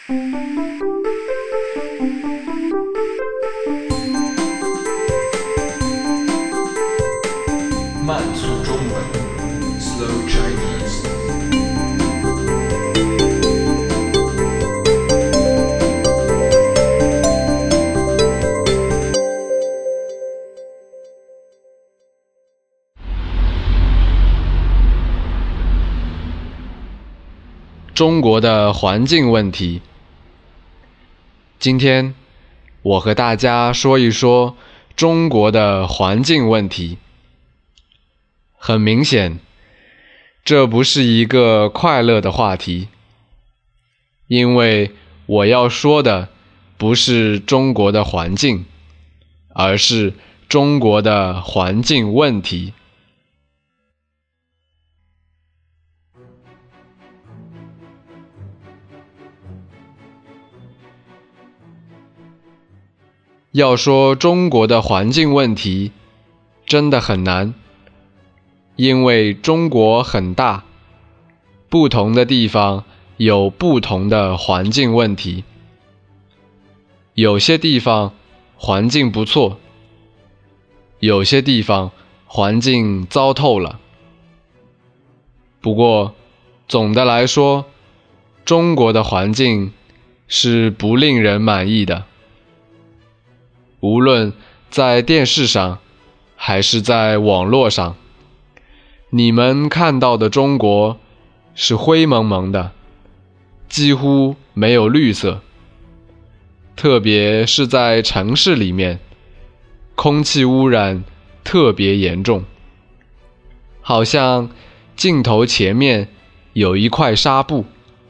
慢速中文 Slow Chinese。 中国的环境问题。今天我和大家说一说中国的环境问题。很明显，这不是一个快乐的话题，因为我要说的不是中国的环境，而是中国的环境问题。要说中国的环境问题，真的很难，因为中国很大，不同的地方有不同的环境问题。有些地方环境不错，有些地方环境糟透了。不过，总的来说，中国的环境是不令人满意的。无论在电视上还是在网络上，你们看到的中国是灰蒙蒙的，几乎没有绿色。特别是在城市里面，空气污染特别严重，好像镜头前面有一块纱布。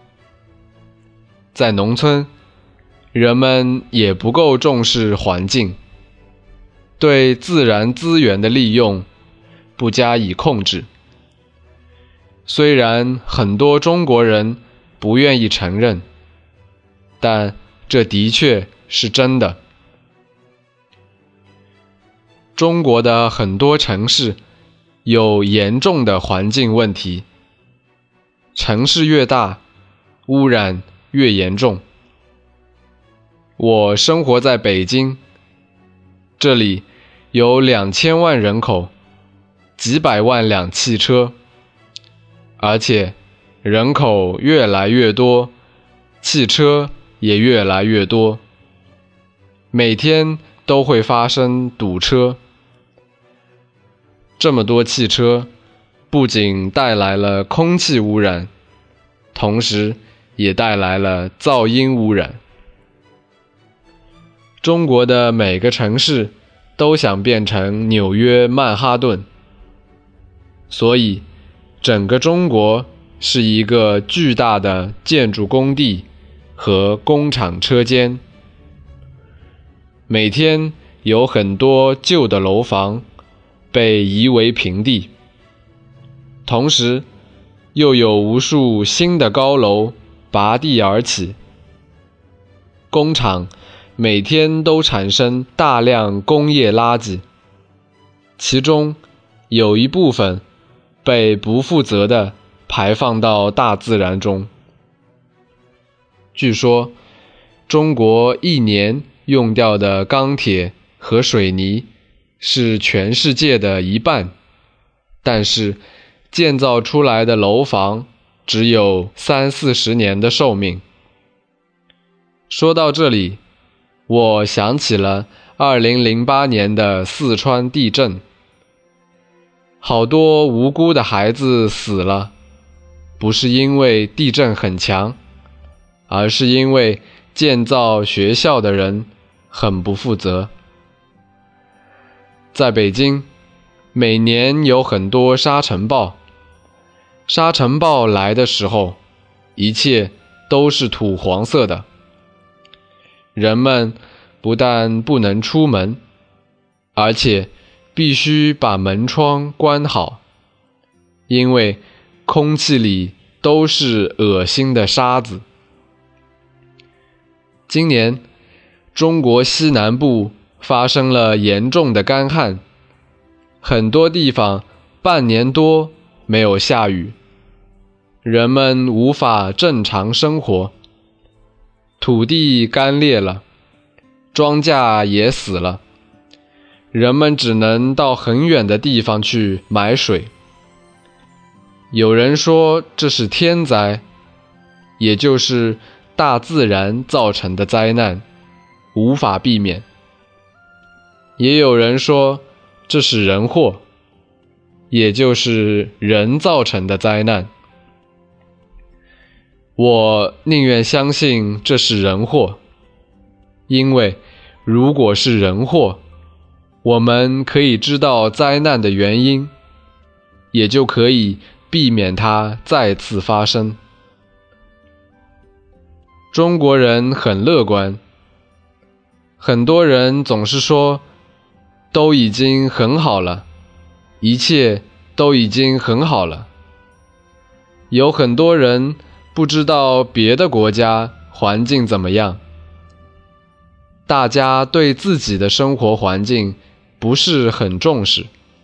在农村，人们也不够重视环境，对自然资源的利用不加以控制。虽然很多中国人不愿意承认，但这的确是真的。中国的很多城市有严重的环境问题，城市越大，污染越严重。我生活在北京，这里有2000万人口，几百万辆汽车，而且人口越来越多，汽车也越来越多，每天都会发生堵车。这么多汽车不仅带来了空气污染，同时也带来了噪音污染。中国的每个城市都想变成纽约曼哈顿，所以整个中国是一个巨大的建筑工地和工厂车间。每天有很多旧的楼房被夷为平地，同时又有无数新的高楼拔地而起。工厂每天都产生大量工业垃圾，其中有一部分被不负责地排放到大自然中。据说，中国一年用掉的钢铁和水泥是全世界的1半，但是建造出来的楼房只有30-40年的寿命。说到这里，我想起了2008年的四川地震，好多无辜的孩子死了，不是因为地震很强，而是因为建造学校的人很不负责。在北京，每年有很多沙尘暴，沙尘暴来的时候，一切都是土黄色的。人们不但不能出门，而且必须把门窗关好，因为空气里都是恶心的沙子。今年，中国西南部发生了严重的干旱，很多地方半年多没有下雨，人们无法正常生活。 土地干裂了，庄稼也死了，人们只能到很远的地方去买水。有人说这是天灾，也就是大自然造成的灾难，无法避免。也有人说这是人祸，也就是人造成的灾难。我宁愿相信这是人祸，因为如果是人祸，我们可以知道灾难的原因，也就可以避免它再次发生。中国人很乐观，很多人总是说都已经很好了，一切都已经很好了。有很多人不知道别的国家环境怎么样，大家对自己的生活环境不是很重视。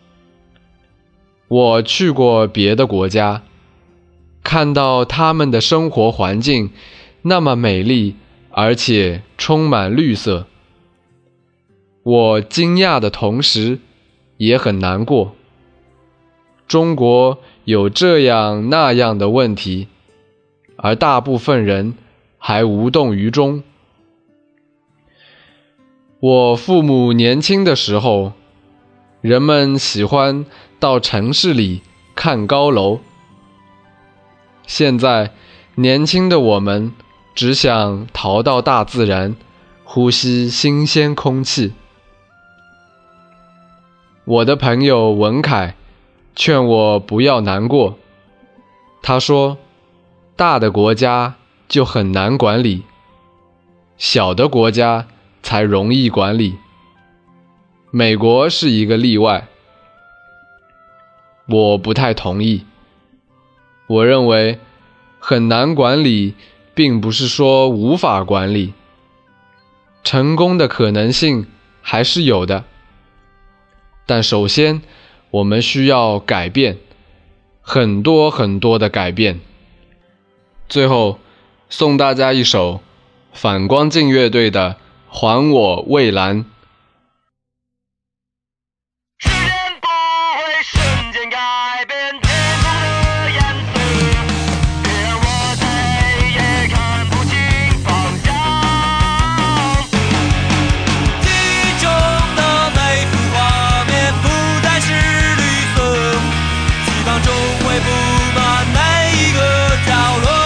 我去过别的国家，看到他们的生活环境那么美丽，而且充满绿色。我惊讶的同时，也很难过。中国有这样那样的问题，而大部分人还无动于衷。我父母年轻的时候，人们喜欢到城市里看高楼。现在，年轻的我们只想逃到大自然，呼吸新鲜空气。我的朋友文凯劝我不要难过，他说，大的国家就很难管理，小的国家才容易管理。美国是一个例外。我不太同意。我认为很难管理并不是说无法管理，成功的可能性还是有的。但首先我们需要改变，很多很多的改变。最后送大家一首反光镜乐队的《还我蔚蓝》。 时间不会瞬间改变天空的颜色，别让我在黑夜看不清方向。记忆中的每幅画面不再是绿色，希望中会布满每一个角落。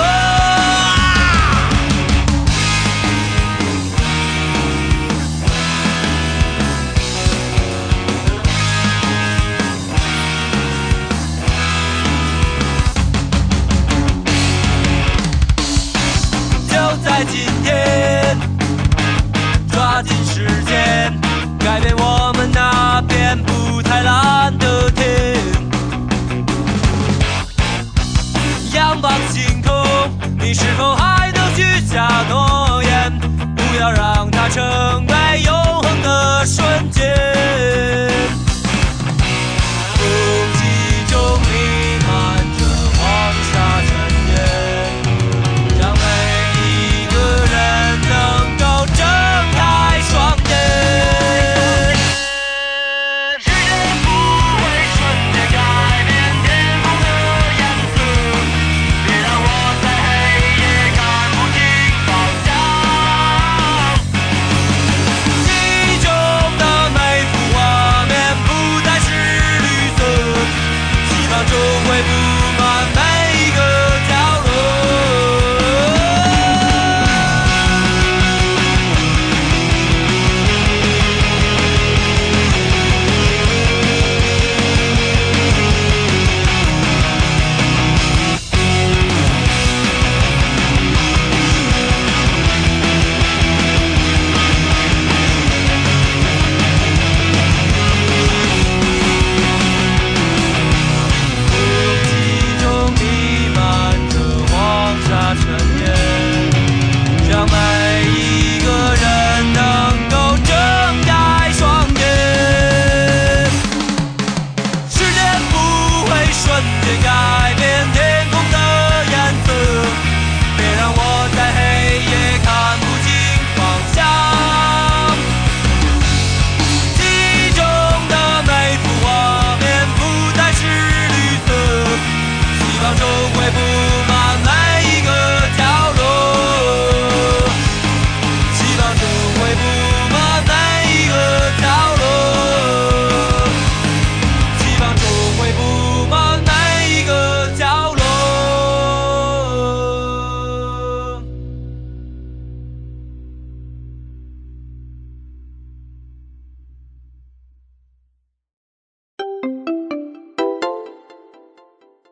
在今天，抓紧时间，改变我们那片不太蓝的天。仰望星空，你是否还能许下诺言？不要让它成为永恒的瞬间。空气中弥漫着黄沙尘烟，让每一个人能够睁开双眼。时间不会瞬间改变天空的颜色，别让我在黑夜看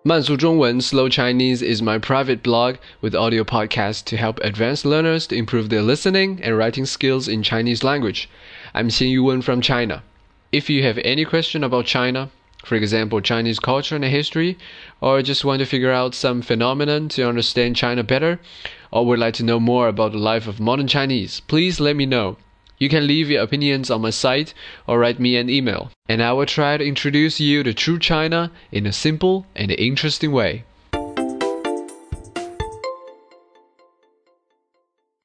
慢速中文 Slow Chinese is my private blog with audio podcasts to help advanced learners to improve their listening and writing skills in Chinese language. I'm Xin Yuwen from China. If you have any question about China, for example, Chinese culture and history, or just want to figure out some phenomenon to understand China better, or would like to know more about the life of modern Chinese, please let me know. You can leave your opinions on my site or write me an email, and I will try to introduce you to true China in a simple and interesting way.